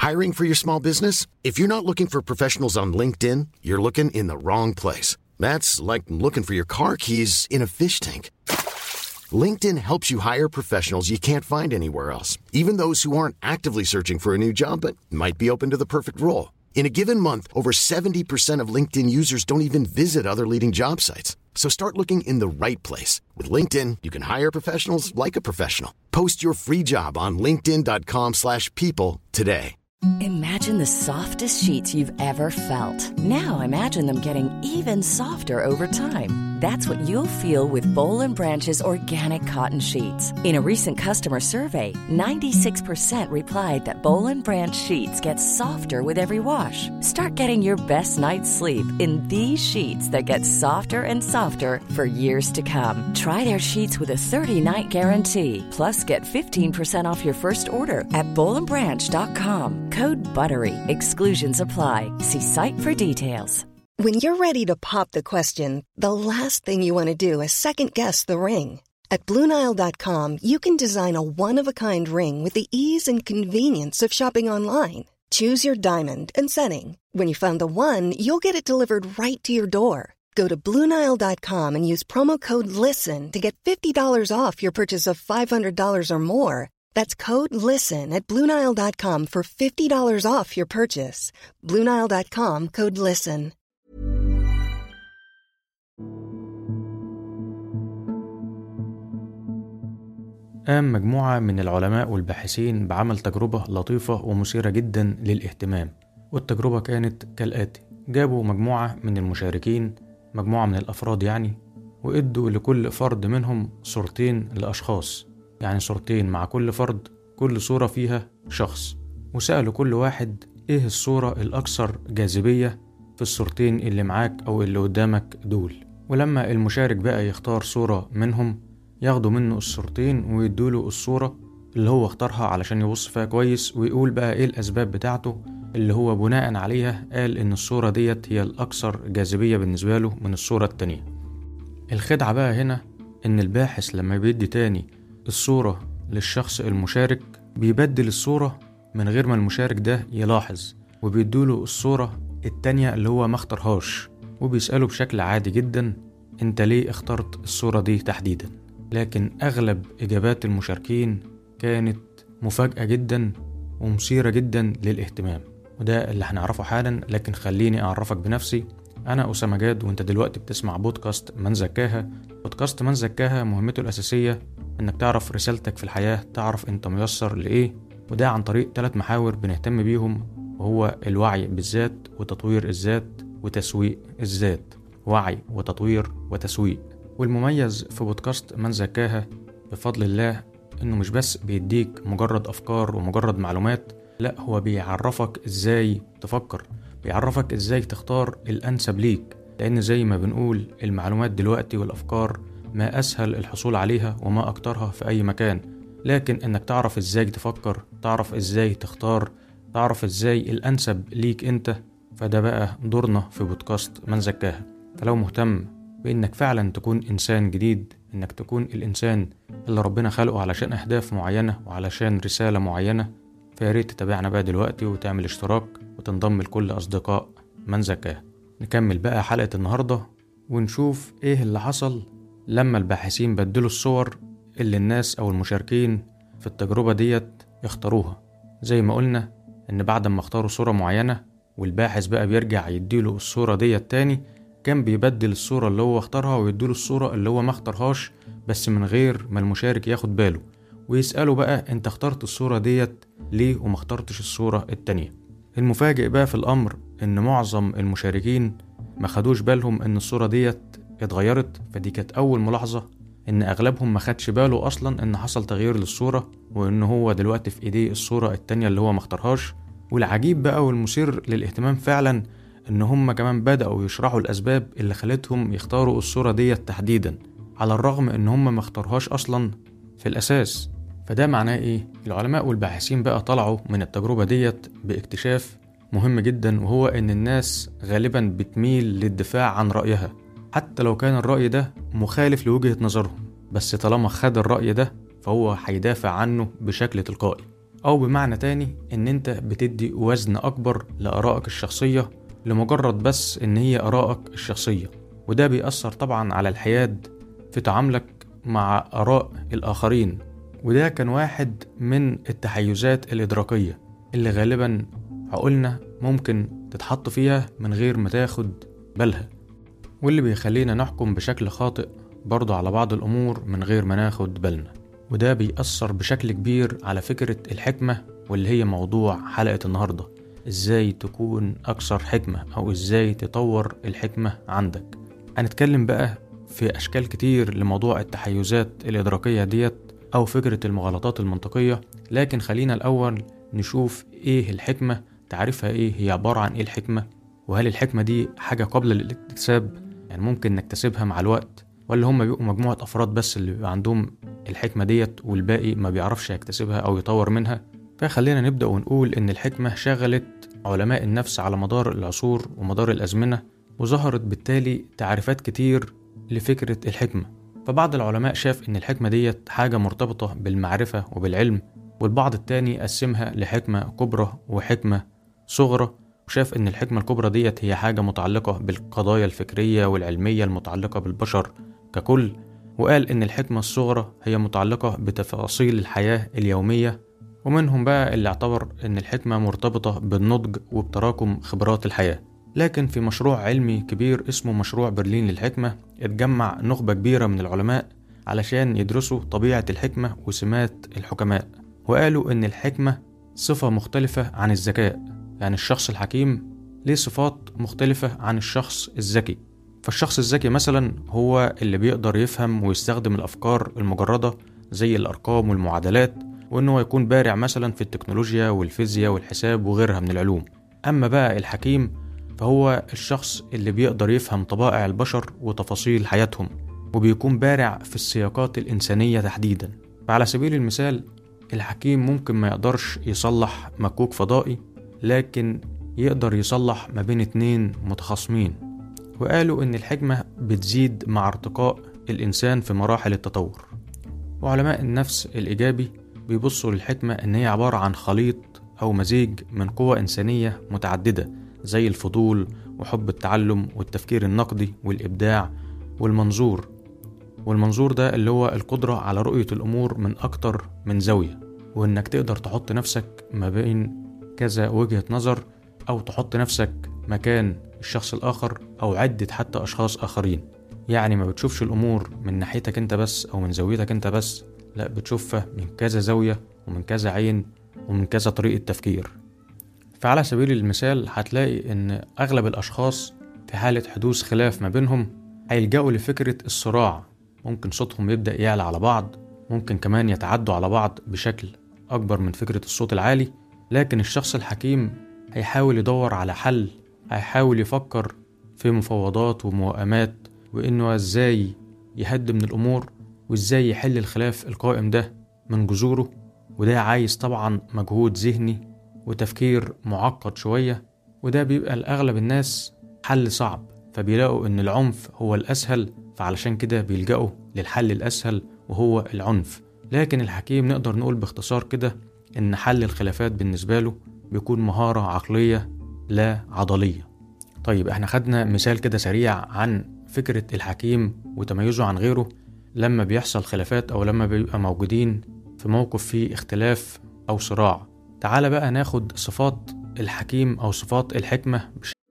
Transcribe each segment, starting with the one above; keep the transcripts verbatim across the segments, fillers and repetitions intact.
Hiring for your small business? If you're not looking for professionals on LinkedIn, you're looking in the wrong place. That's like looking for your car keys in a fish tank. LinkedIn helps you hire professionals you can't find anywhere else, even those who aren't actively searching for a new job but might be open to the perfect role. In a given month, over seventy percent of LinkedIn users don't even visit other leading job sites. So start looking in the right place. With LinkedIn, you can hire professionals like a professional. Post your free job on linkedin dot com slash people today. Imagine the softest sheets you've ever felt. Now imagine them getting even softer over time. That's what you'll feel with Boll and Branch's organic cotton sheets. In a recent customer survey, ninety-six percent replied that Boll and Branch sheets get softer with every wash. Start getting your best night's sleep in these sheets that get softer and softer for years to come. Try their sheets with a thirty-night guarantee. Plus, get fifteen percent off your first order at boll and branch dot com. Code BUTTERY. Exclusions apply. See site for details. When you're ready to pop the question, the last thing you want to do is second-guess the ring. At blue nile dot com, you can design a one-of-a-kind ring with the ease and convenience of shopping online. Choose your diamond and setting. When you find the one, you'll get it delivered right to your door. Go to blue nile dot com and use promo code LISTEN to get fifty dollars off your purchase of five hundred dollars or more. That's code LISTEN at blue nile dot com for fifty dollars off your purchase. blue nile dot com, code LISTEN. قام مجموعة من العلماء والباحثين بعمل تجربة لطيفة ومثيرة جدا للاهتمام، والتجربة كانت كالآتي: جابوا مجموعة من المشاركين، مجموعة من الأفراد يعني، وإدوا لكل فرد منهم صورتين لأشخاص، يعني صورتين مع كل فرد، كل صورة فيها شخص، وسألوا كل واحد إيه الصورة الأكثر جاذبية في الصورتين اللي معاك أو اللي قدامك دول. ولما المشارك بقى يختار صورة منهم، ياخدوا منه الصورتين ويدوله الصورة اللي هو اختارها علشان يبص فيها كويس، ويقول بقى إيه الأسباب بتاعته اللي هو بناء عليها قال إن الصورة ديت هي الأكثر جاذبية بالنسبة له من الصورة التانية. الخدعة بقى هنا إن الباحث لما بيدي تاني الصورة للشخص المشارك بيبدل الصورة من غير ما المشارك ده يلاحظ، وبيدوله الصورة التانية اللي هو ما اختارهاش، وبيسأله بشكل عادي جدا: انت ليه اخترت الصورة دي تحديدا؟ لكن أغلب إجابات المشاركين كانت مفاجأة جدا ومثيرة جدا للاهتمام، وده اللي هنعرفه حالا. لكن خليني أعرفك بنفسي. أنا أسامة جاد، وأنت دلوقتي بتسمع بودكاست من زكاها. بودكاست من زكاها مهمته الأساسية إنك تعرف رسالتك في الحياة، تعرف أنت ميسر لإيه، وده عن طريق ثلاث محاور بنهتم بيهم، وهو الوعي بالذات وتطوير الذات وتسويق الذات. وعي وتطوير وتسويق. والمميز في بودكاست من زكاها بفضل الله إنه مش بس بيديك مجرد أفكار ومجرد معلومات، لا، هو بيعرفك إزاي تفكر، بيعرفك إزاي تختار الأنسب ليك، لأن زي ما بنقول المعلومات دلوقتي والأفكار ما أسهل الحصول عليها وما أكترها في أي مكان، لكن إنك تعرف إزاي تفكر، تعرف إزاي تختار، تعرف إزاي الأنسب ليك أنت، فده بقى دورنا في بودكاست من زكاها. فلو مهتم بإنك فعلا تكون إنسان جديد، إنك تكون الإنسان اللي ربنا خلقه علشان أهداف معينة وعلشان رسالة معينة، فياريت تتابعنا بقى دلوقتي وتعمل اشتراك وتنضم لكل أصدقاء من زكاها. نكمل بقى حلقة النهاردة ونشوف إيه اللي حصل لما الباحثين بدلوا الصور اللي الناس أو المشاركين في التجربة ديت اختاروها. زي ما قلنا إن بعد ما اختاروا صورة معينة والباحث بقى بيرجع يديله الصورة ديت تاني، كان بيبدل الصورة اللي هو اختارها ويديله الصورة اللي هو ما اختارهاش، بس من غير ما المشارك ياخد باله، ويسأله بقى انت اخترت الصورة ديت ليه وما اخترتش الصورة التانية. المفاجئ بقى في الأمر ان معظم المشاركين ما خدوش بالهم ان الصورة ديت اتغيرت، فدي كانت أول ملاحظة ان اغلبهم ما خدش باله اصلا ان حصل تغيير للصورة، وان هو دلوقتي في ايديه الصورة التانية اللي هو ما اختارهاش. والعجيب بقى والمثير للاهتمام فعلا ان هم كمان بدأوا يشرحوا الاسباب اللي خلتهم يختاروا الصورة ديت تحديدا، على الرغم ان هم ما اختاروهاش اصلا في الاساس. فده معناه ايه؟ العلماء والباحثين بقى طلعوا من التجربة ديت باكتشاف مهم جدا، وهو ان الناس غالبا بتميل للدفاع عن رأيها حتى لو كان الرأي ده مخالف لوجهة نظرهم، بس طالما خد الرأي ده فهو هيدافع عنه بشكل تلقائي. أو بمعنى تاني إن أنت بتدي وزن أكبر لآرائك الشخصية لمجرد بس إن هي آرائك الشخصية، وده بيأثر طبعا على الحياد في تعاملك مع آراء الآخرين. وده كان واحد من التحيزات الإدراكية اللي غالبا عقولنا ممكن تتحط فيها من غير ما تاخد بالها، واللي بيخلينا نحكم بشكل خاطئ برضو على بعض الأمور من غير ما ناخد بالنا. وده بيأثر بشكل كبير على فكرة الحكمة، واللي هي موضوع حلقة النهاردة، إزاي تكون أكثر حكمة أو إزاي تطور الحكمة عندك. هنتكلم بقى في أشكال كتير لموضوع التحيزات الإدراكية ديت أو فكرة المغالطات المنطقية، لكن خلينا الأول نشوف إيه الحكمة، تعرفها إيه، هي عبارة عن إيه الحكمة، وهل الحكمة دي حاجة قابلة للاكتساب، يعني ممكن نكتسبها مع الوقت، ولا هم بيبقوا مجموعة أفراد بس اللي بيبقى عندهم الحكمة ديت والباقي ما بيعرفش يكتسبها أو يطور منها. فخلينا نبدأ ونقول إن الحكمة شغلت علماء النفس على مدار العصور ومدار الأزمنة، وظهرت بالتالي تعريفات كتير لفكرة الحكمة. فبعض العلماء شاف إن الحكمة ديت حاجة مرتبطة بالمعرفة وبالعلم، والبعض التاني قسمها لحكمة كبرى وحكمة صغرى، وشاف إن الحكمة الكبرى ديت هي حاجة متعلقة بالقضايا الفكرية والعلمية المتعلقة بالبشر ككل، وقال إن الحكمة الصغرى هي متعلقة بتفاصيل الحياة اليومية. ومنهم بقى اللي اعتبر إن الحكمة مرتبطة بالنضج وبتراكم خبرات الحياة. لكن في مشروع علمي كبير اسمه مشروع برلين للحكمة اتجمع نخبة كبيرة من العلماء علشان يدرسوا طبيعة الحكمة وسمات الحكماء، وقالوا إن الحكمة صفة مختلفة عن الذكاء، يعني الشخص الحكيم ليه صفات مختلفة عن الشخص الذكي. فالشخص الذكي مثلا هو اللي بيقدر يفهم ويستخدم الأفكار المجردة زي الأرقام والمعادلات، وإنه يكون بارع مثلا في التكنولوجيا والفيزياء والحساب وغيرها من العلوم. أما بقى الحكيم فهو الشخص اللي بيقدر يفهم طبائع البشر وتفاصيل حياتهم، وبيكون بارع في السياقات الإنسانية تحديدا. فعلى سبيل المثال الحكيم ممكن ما يقدرش يصلح مكوك فضائي، لكن يقدر يصلح ما بين اتنين متخاصمين. وقالوا إن الحكمة بتزيد مع ارتقاء الإنسان في مراحل التطور. وعلماء النفس الإيجابي بيبصوا للحكمة إن هي عبارة عن خليط أو مزيج من قوى إنسانية متعددة زي الفضول وحب التعلم والتفكير النقدي والإبداع والمنظور. والمنظور ده اللي هو القدرة على رؤية الأمور من أكتر من زاوية، وإنك تقدر تحط نفسك ما بين كذا وجهة نظر، أو تحط نفسك مكان الشخص الآخر أو عدة حتى أشخاص آخرين. يعني ما بتشوفش الأمور من ناحيتك أنت بس أو من زاويتك أنت بس، لا بتشوفها من كذا زاوية ومن كذا عين ومن كذا طريقة تفكير. فعلى سبيل المثال هتلاقي إن أغلب الأشخاص في حالة حدوث خلاف ما بينهم هيلجأوا لفكرة الصراع، ممكن صوتهم يبدأ يعلى على بعض، ممكن كمان يتعدوا على بعض بشكل أكبر من فكرة الصوت العالي. لكن الشخص الحكيم هيحاول يدور على حل، هيحاول يفكر في مفاوضات وموائمات، وإنه إزاي يهدي من الأمور وإزاي يحل الخلاف القائم ده من جذوره. وده عايز طبعا مجهود ذهني وتفكير معقد شوية، وده بيبقى لأغلب الناس حل صعب، فبيلاقوا إن العنف هو الأسهل، فعلشان كده بيلجأوا للحل الأسهل وهو العنف. لكن الحكيم نقدر نقول باختصار كده إن حل الخلافات بالنسبة له بيكون مهارة عقلية لا عضلية. طيب احنا خدنا مثال كده سريع عن فكرة الحكيم وتميزه عن غيره لما بيحصل خلافات أو لما بيبقى موجودين في موقف فيه اختلاف أو صراع. تعال بقى ناخد صفات الحكيم أو صفات الحكمة.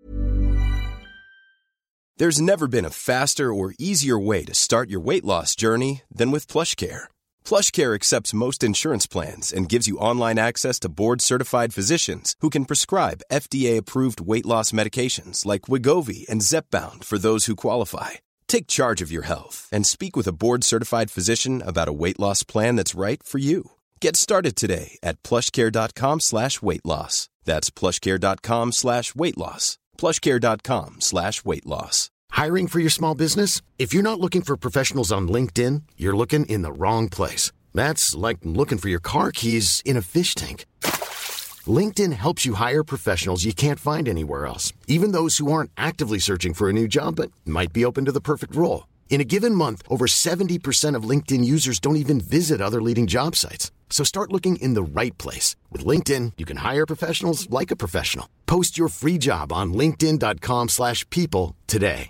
There's never been a faster or easier way to start your weight loss journey than with PlushCare. PlushCare accepts most insurance plans and gives you online access to board-certified physicians who can prescribe F D A-approved weight loss medications like Wegovy and Zepbound for those who qualify. Take charge of your health and speak with a board-certified physician about a weight loss plan that's right for you. Get started today at plushcare.com slash weight loss. That's plushcare.com slash weight loss. plushcare.com slash weight loss. Hiring for your small business? If you're not looking for professionals on LinkedIn, you're looking in the wrong place. That's like looking for your car keys in a fish tank. LinkedIn helps you hire professionals you can't find anywhere else, even those who aren't actively searching for a new job but might be open to the perfect role. In a given month, over seventy percent of LinkedIn users don't even visit other leading job sites. So start looking in the right place. With LinkedIn, you can hire professionals like a professional. Post your free job on linkedin dot com slash people today.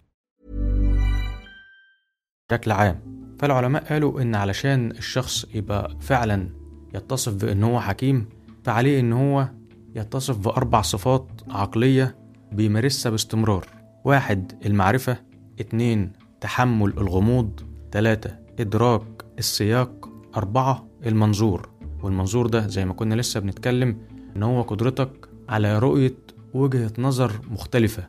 بشكل عام، فالعلماء قالوا إن علشان الشخص يبقى فعلا يتصف بأنه هو حكيم، فعليه إن هو يتصف بأربع صفات عقلية بيمارسها باستمرار. واحد، المعرفة. اتنين، تحمل الغموض. تلاتة، إدراك السياق. أربعة، المنظور. والمنظور ده زي ما كنا لسه بنتكلم إن هو قدرتك على رؤية وجهة نظر مختلفة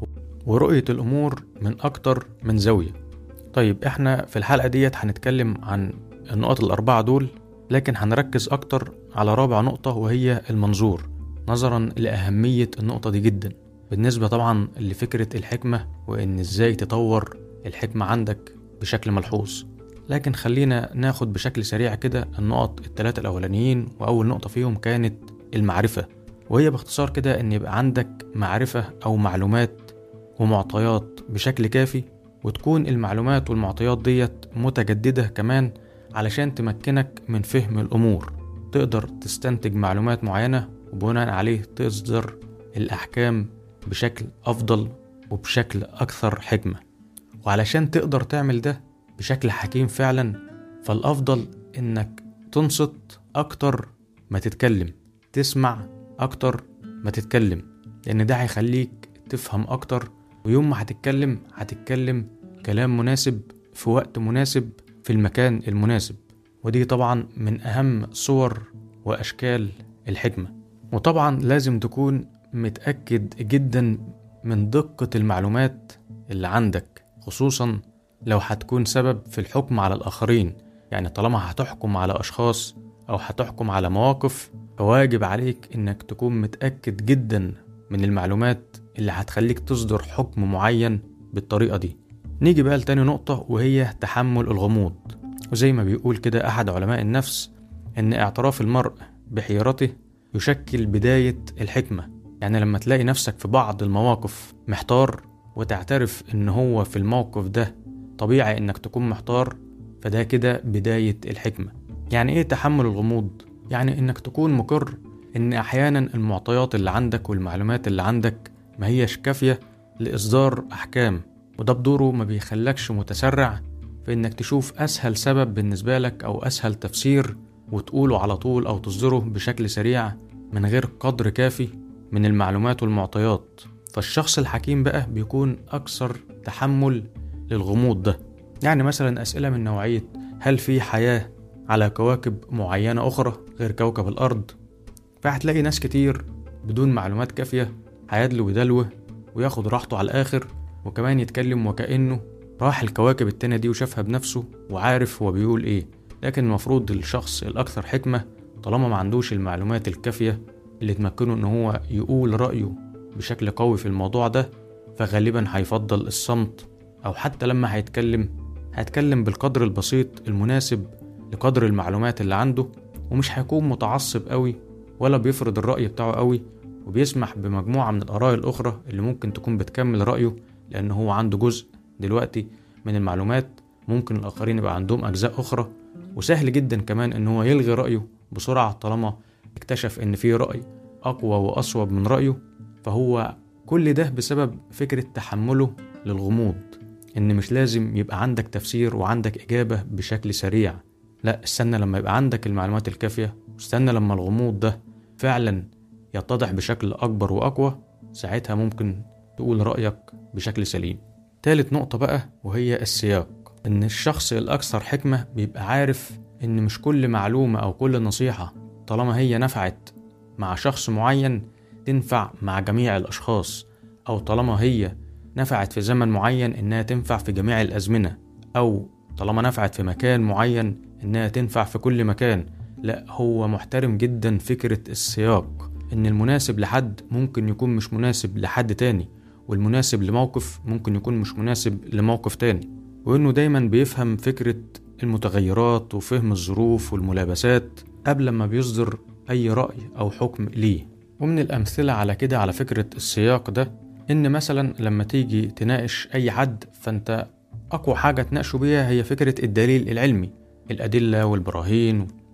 ورؤية الأمور من أكتر من زاوية. طيب إحنا في الحلقة ديت هنتكلم عن النقط الأربعة دول، لكن هنركز أكتر على رابع نقطة وهي المنظور، نظرا لأهمية النقطة دي جدا بالنسبة طبعا لفكرة الحكمة وإن إزاي تطور الحكمة عندك بشكل ملحوظ. لكن خلينا ناخد بشكل سريع كده النقط الثلاثة الأولانيين. وأول نقطة فيهم كانت المعرفة، وهي باختصار كده إن يبقى عندك معرفة أو معلومات ومعطيات بشكل كافي، وتكون المعلومات والمعطيات ديت متجددة كمان علشان تمكنك من فهم الأمور. تقدر تستنتج معلومات معينة وبناء عليه تصدر الأحكام بشكل أفضل وبشكل أكثر حكمة. وعلشان تقدر تعمل ده بشكل حكيم فعلا، فالأفضل إنك تنصت أكتر ما تتكلم، تسمع أكتر ما تتكلم، لأن ده هيخليك تفهم أكتر. ويوم ما هتتكلم هتتكلم كلام مناسب في وقت مناسب في المكان المناسب. ودي طبعا من أهم صور وأشكال الحكمة. وطبعا لازم تكون متأكد جدا من دقة المعلومات اللي عندك، خصوصا لو هتكون سبب في الحكم على الآخرين. يعني طالما هتحكم على أشخاص أو هتحكم على مواقف، فواجب عليك إنك تكون متأكد جدا من المعلومات اللي هتخليك تصدر حكم معين بالطريقة دي. نيجي بقى لتاني نقطة وهي تحمل الغموض. وزي ما بيقول كده أحد علماء النفس إن اعتراف المرء بحيرته يشكل بداية الحكمة. يعني لما تلاقي نفسك في بعض المواقف محتار وتعترف إن هو في الموقف ده طبيعي إنك تكون محتار، فده كده بداية الحكمة. يعني إيه تحمل الغموض؟ يعني إنك تكون مقر إن أحيانا المعطيات اللي عندك والمعلومات اللي عندك ما هيش كافية لإصدار أحكام، وده بدوره ما بيخلكش متسرع في إنك تشوف أسهل سبب بالنسبة لك أو أسهل تفسير وتقوله على طول أو تصدره بشكل سريع من غير قدر كافي من المعلومات والمعطيات. فالشخص الحكيم بقى بيكون أكثر تحمل للغموض ده. يعني مثلا أسئلة من نوعية هل في حياة على كواكب معينة أخرى غير كوكب الأرض؟ فهتلاقي ناس كتير بدون معلومات كافية هيدلو ويدلوه وياخد راحته على الآخر، وكمان يتكلم وكأنه راح الكواكب التانية دي وشافها بنفسه وعارف هو بيقول إيه. لكن المفروض الشخص الأكثر حكمة طالما ما عندوش المعلومات الكافية اللي تمكنه إن هو يقول رأيه بشكل قوي في الموضوع ده، فغالبا هيفضل الصمت، أو حتى لما هيتكلم هيتكلم بالقدر البسيط المناسب لقدر المعلومات اللي عنده، ومش هيكون متعصب قوي ولا بيفرض الرأي بتاعه قوي، وبيسمح بمجموعة من الآراء الأخرى اللي ممكن تكون بتكمل رأيه، لأنه هو عنده جزء دلوقتي من المعلومات، ممكن الآخرين يبقى عندهم أجزاء أخرى. وسهل جدا كمان إن هو يلغي رأيه بسرعة طالما اكتشف إن فيه رأي أقوى وأصوب من رأيه. فهو كل ده بسبب فكرة تحمله للغموض، إن مش لازم يبقى عندك تفسير وعندك إجابة بشكل سريع. لا، استنى لما يبقى عندك المعلومات الكافية، واستنى لما الغموض ده فعلا يتضح بشكل أكبر وأقوى، ساعتها ممكن تقول رأيك بشكل سليم. ثالث نقطة بقى وهي السياق. إن الشخص الأكثر حكمة بيبقى عارف إن مش كل معلومة أو كل نصيحة طالما هي نفعت مع شخص معين تنفع مع جميع الأشخاص، أو طالما هي نفعت في زمن معين إنها تنفع في جميع الأزمنة، أو طالما نفعت في مكان معين إنها تنفع في كل مكان. لا، هو محترم جدا فكرة السياق، إن المناسب لحد ممكن يكون مش مناسب لحد تاني، والمناسب لموقف ممكن يكون مش مناسب لموقف تاني، وإنه دايما بيفهم فكرة المتغيرات وفهم الظروف والملابسات قبل ما بيصدر أي رأي أو حكم ليه. ومن الأمثلة على كده على فكرة السياق ده، إن مثلا لما تيجي تناقش أي حد، فأنت أقوى حاجة تناقشه بيها هي فكرة الدليل العلمي، الأدلة والبراهين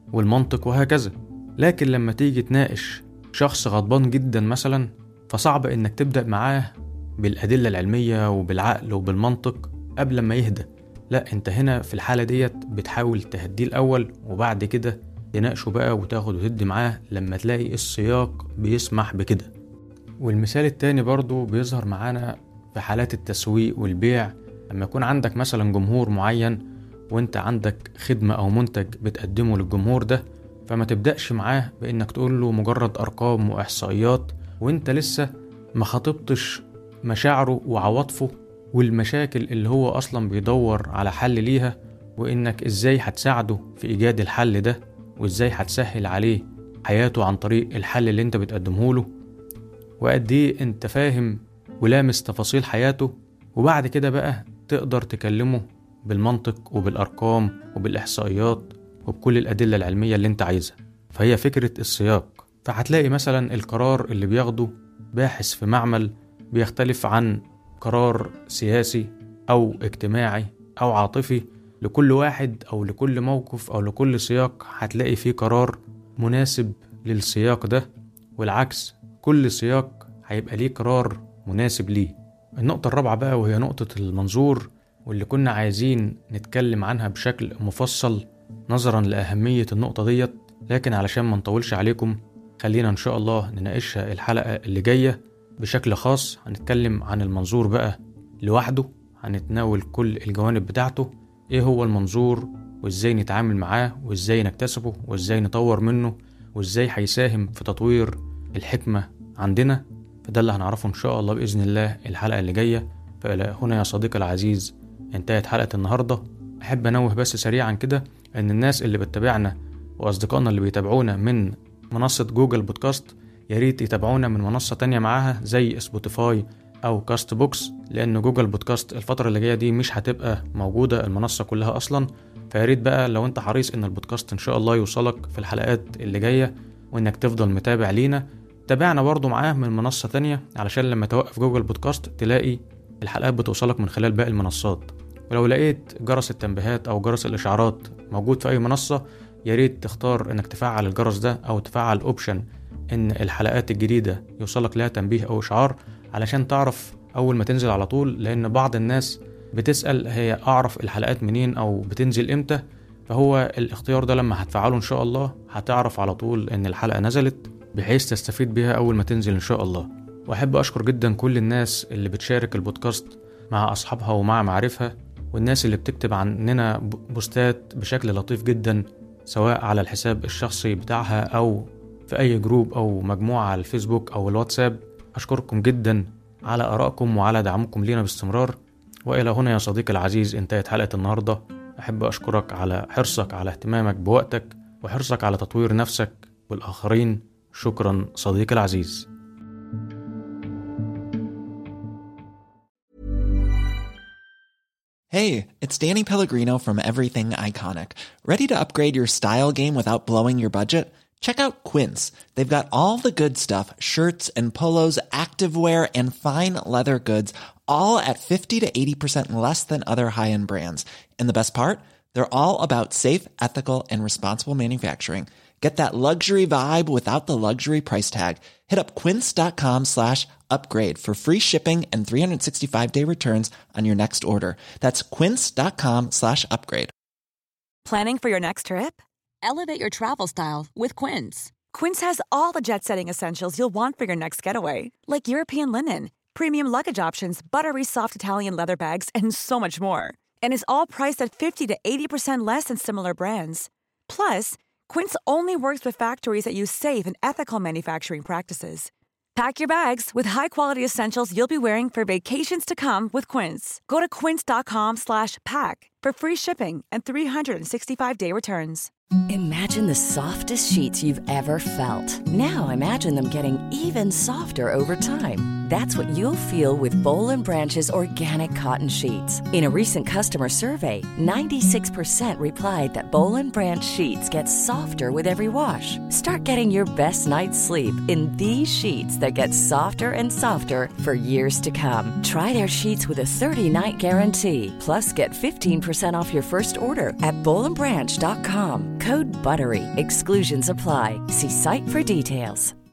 والمنطق وهكذا. لكن لما تيجي تناقش شخص غضبان جدا مثلا، فصعب انك تبدأ معاه بالأدلة العلمية وبالعقل وبالمنطق قبل ما يهدى. لا، انت هنا في الحالة ديت بتحاول تهديه الأول، وبعد كده تناقشه بقى وتاخد وتدي معاه لما تلاقي السياق بيسمح بكده. والمثال التاني برضو بيظهر معانا في حالات التسويق والبيع. لما يكون عندك مثلا جمهور معين وانت عندك خدمة او منتج بتقدمه للجمهور ده، فما تبدأش معاه بانك تقول له مجرد ارقام واحصائيات وانت لسه ما خاطبتش مشاعره وعواطفه والمشاكل اللي هو اصلا بيدور على حل ليها، وانك ازاي هتساعده في ايجاد الحل ده، وازاي هتسهل عليه حياته عن طريق الحل اللي انت بتقدمه له، وقد ايه انت فاهم ولامس تفاصيل حياته. وبعد كده بقى تقدر تكلمه بالمنطق وبالارقام وبالاحصائيات وبكل الادله العلميه اللي انت عايزها. فهي فكره السياق. فهتلاقي مثلا القرار اللي بياخده باحث في معمل بيختلف عن قرار سياسي او اجتماعي او عاطفي. لكل واحد او لكل موقف او لكل سياق هتلاقي فيه قرار مناسب للسياق ده، والعكس كل سياق هيبقى ليه قرار مناسب ليه. النقطة الرابعة بقى وهي نقطة المنظور، واللي كنا عايزين نتكلم عنها بشكل مفصل نظرا لأهمية النقطة ديت، لكن علشان ما نطولش عليكم خلينا إن شاء الله نناقشها الحلقة اللي جاية بشكل خاص. هنتكلم عن المنظور بقى لوحده، هنتناول كل الجوانب بتاعته، ايه هو المنظور وازاي نتعامل معاه وازاي نكتسبه وازاي نطور منه وازاي هيساهم في تطوير الحكمة عندنا. فده اللي هنعرفه إن شاء الله بإذن الله الحلقة اللي جاية. فإلى هنا يا صديقي العزيز انتهت حلقة النهاردة. أحب أنوه بس سريعا كده أن الناس اللي بتتابعنا وأصدقائنا اللي بيتابعونا من منصة جوجل بودكاست ياريت يتابعونا من منصة تانية معاها زي سبوتيفاي أو كاست بوكس، لأن جوجل بودكاست الفترة اللي جاية دي مش هتبقى موجودة المنصة كلها أصلا. فياريت بقى لو أنت حريص أن البودكاست إن شاء الله يوصلك في الحلقات اللي جاية وأنك تفضل متابع لينا، تابعنا برضو معاه من منصة تانية علشان لما توقف جوجل بودكاست تلاقي الحلقات بتوصلك من خلال باقي المنصات. ولو لقيت جرس التنبيهات أو جرس الإشعارات موجود في أي منصة، ياريت تختار إنك تفعل الجرس ده أو تفعل أوبشن إن الحلقات الجديدة يوصلك لها تنبيه أو إشعار علشان تعرف أول ما تنزل على طول. لأن بعض الناس بتسأل هي أعرف الحلقات منين أو بتنزل إمتى، فهو الاختيار ده لما هتفعله إن شاء الله هتعرف على طول إن الحلقة نزلت بحيث تستفيد بيها أول ما تنزل إن شاء الله. وأحب أشكر جدا كل الناس اللي بتشارك البودكاست مع أصحابها ومع معارفها، والناس اللي بتكتب عننا بوستات بشكل لطيف جدا سواء على الحساب الشخصي بتاعها أو في أي جروب أو مجموعة على الفيسبوك أو الواتساب. أشكركم جدا على آرائكم وعلى دعمكم لينا باستمرار. وإلى هنا يا صديقي العزيز انتهت حلقة النهاردة. أحب أشكرك على حرصك على اهتمامك بوقتك وحرصك على تطوير نفسك والآخرين. شكرا صديقي العزيز. Hey, it's Danny Pellegrino from Everything Iconic. Ready to upgrade your style game without blowing your budget? Check out Quince. They've got all the good stuff, shirts and polos, activewear, and fine leather goods, all at fifty to eighty percent less than other high-end brands. And the best part? They're all about safe, ethical, and responsible manufacturing. Get that luxury vibe without the luxury price tag. Hit up quince.com slash upgrade for free shipping and three sixty-five day returns on your next order. That's quince.com slash upgrade. Planning for your next trip? Elevate your travel style with Quince. Quince has all the jet-setting essentials you'll want for your next getaway, like European linen, premium luggage options, buttery soft Italian leather bags, and so much more. And is all priced at fifty to eighty percent less than similar brands. Plus, Quince only works with factories that use safe and ethical manufacturing practices. Pack your bags with high-quality essentials you'll be wearing for vacations to come with Quince. Go to quince.com slash pack for free shipping and three sixty-five day returns. Imagine the softest sheets you've ever felt. Now imagine them getting even softer over time. That's what you'll feel with Boll and Branch's organic cotton sheets. In a recent customer survey, ninety-six percent replied that Boll and Branch sheets get softer with every wash. Start getting your best night's sleep in these sheets that get softer and softer for years to come. Try their sheets with a thirty-night guarantee. Plus, get fifteen percent off your first order at boll and branch dot com. Code BUTTERY. Exclusions apply. See site for details.